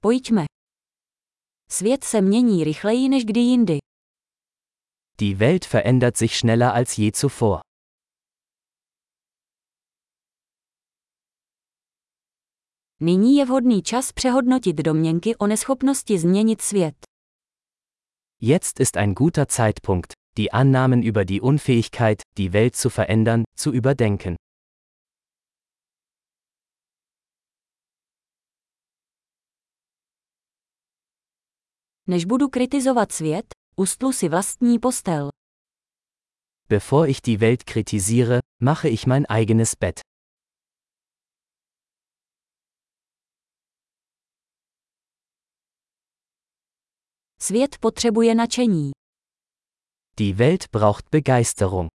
Pojďme. Svět se mění rychleji než kdy jindy. Die Welt verändert sich schneller als je zuvor. Nyní je vhodný čas přehodnotit domněnky o neschopnosti změnit svět. Jetzt ist ein guter Zeitpunkt, die Annahmen über die Unfähigkeit, die Welt zu verändern, zu überdenken. Než budu kritizovat svět, ustlu si vlastní postel. Bevor ich die Welt kritisiere, mache ich mein eigenes Bett. Svět potřebuje nadšení. Die Welt braucht Begeisterung.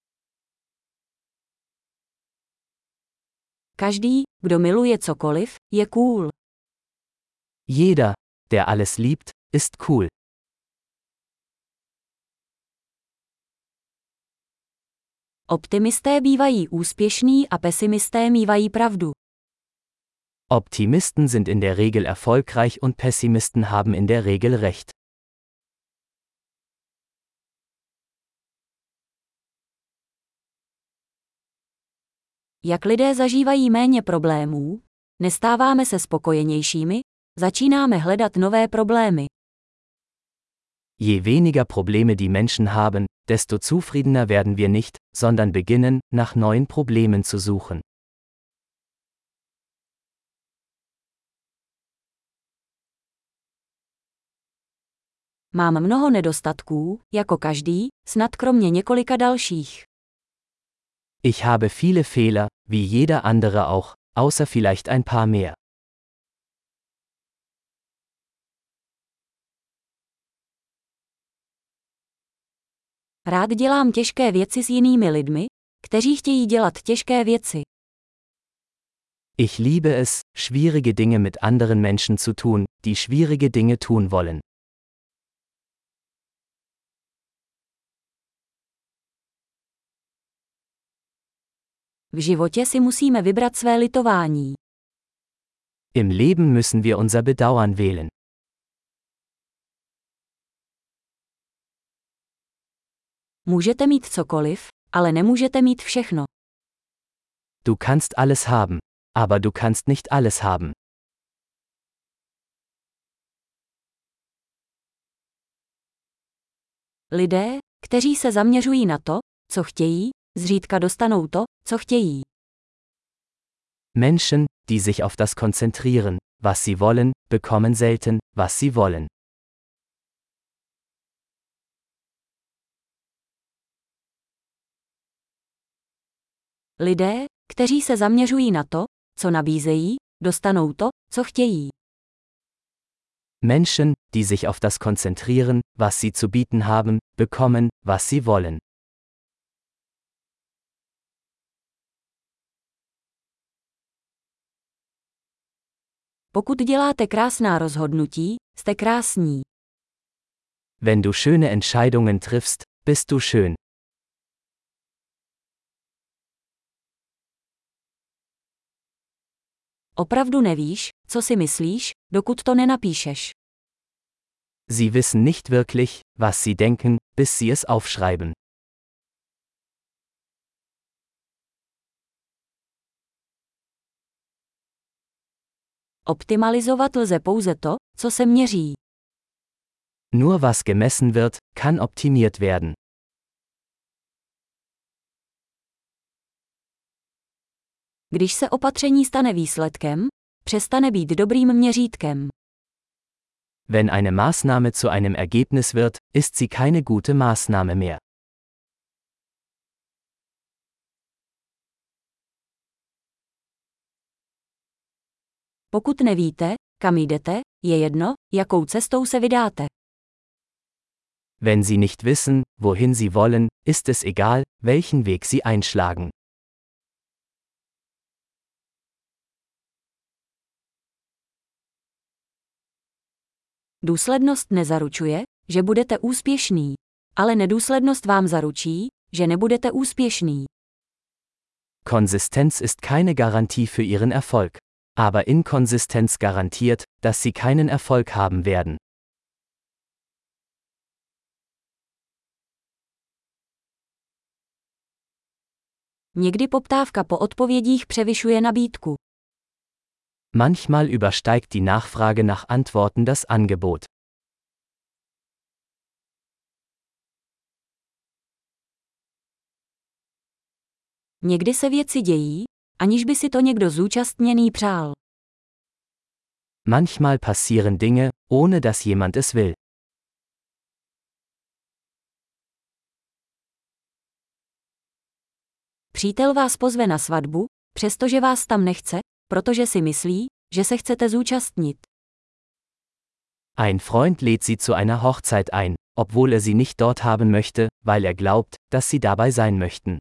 Každý, kdo miluje cokoliv, je cool. Jeder, der alles liebt, ist cool. Optimisté bývají úspěšní a pesimisté mívají pravdu. Optimisten sind in der Regel erfolgreich und Pessimisten haben in der Regel recht. Jak lidé zažívají méně problémů, nestáváme se spokojenějšími, začínáme hledat nové problémy. Je weniger Probleme die Menschen haben, desto zufriedener werden wir nicht, sondern beginnen, nach neuen Problemen zu suchen. Mám mnoho nedostatků, jako každý, snad kromě několika dalších. Ich habe viele Fehler, wie jeder andere auch, außer vielleicht ein paar mehr. Rád dělám těžké věci s jinými lidmi, kteří chtějí dělat těžké věci. Ich liebe es, schwierige Dinge mit anderen Menschen zu tun, die schwierige Dinge tun wollen. V životě si musíme vybrat své litování. Im Leben müssen wir unser Bedauern wählen. Můžete mít cokoliv, ale nemůžete mít všechno. Du kannst alles haben, aber du kannst nicht alles haben. Lidé, kteří se zaměřují na to, co chtějí, zřídka dostanou to, co chtějí. Menschen, die sich auf das konzentrieren, was sie wollen, bekommen selten, was sie wollen. Lidé, kteří se zaměřují na to, co nabízejí, dostanou to, co chtějí. Menschen, die sich auf das konzentrieren, was sie zu bieten haben, bekommen, was sie wollen. Pokud děláte krásná rozhodnutí, jste krásní. Wenn du schöne Entscheidungen triffst, bist du schön. Opravdu nevíš, co si myslíš, dokud to nenapíšeš. Sie wissen nicht wirklich, was sie denken, bis sie es aufschreiben. Optimalizovat lze pouze to, co se měří. Nur was gemessen wird, kann optimiert werden. Když se opatření stane výsledkem, přestane být dobrým měřítkem. Wenn eine Maßnahme zu einem Ergebnis wird, ist sie keine gute Maßnahme mehr. Pokud nevíte, kam jdete, je jedno, jakou cestou se vydáte. Wenn Sie nicht wissen, wohin Sie wollen, ist es egal, welchen Weg Sie einschlagen. Důslednost nezaručuje, že budete úspěšný, ale nedůslednost vám zaručí, že nebudete úspěšný. Konsistenz ist keine Garantie für Ihren Erfolg. Aber Inkonsistenz garantiert, dass sie keinen Erfolg haben werden. Někdy poptávka po odpovědích převyšuje nabídku. Manchmal übersteigt die Nachfrage nach Antworten das Angebot. Někdy se věci dějí, aniž by si to někdo zúčastněný přál. Manchmal passieren Dinge, ohne dass jemand es will. Přítel vás pozve na svatbu, přestože vás tam nechce, protože si myslí, že se chcete zúčastnit. Ein Freund lädt sie zu einer Hochzeit ein, obwohl sie nicht dort haben möchte, weil glaubt, dass sie dabei sein möchten.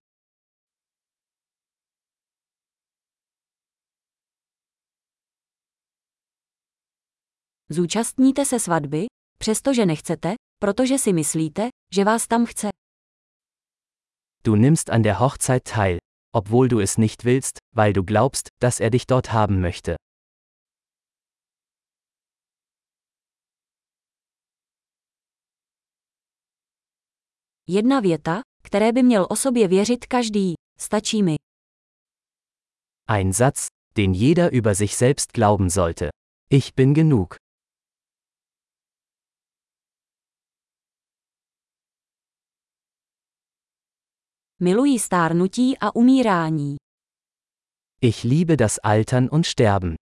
Zúčastníte se svatby, přestože nechcete, protože si myslíte, že vás tam chce. Du nimmst an der Hochzeit teil, obwohl du es nicht willst, weil du glaubst, dass dich dort haben möchte. Jedna věta, které by měl o sobě věřit každý, stačí mi. Ein Satz, den jeder über sich selbst glauben sollte. Ich bin genug. Miluji stárnutí a umírání. Ich liebe das Altern und Sterben.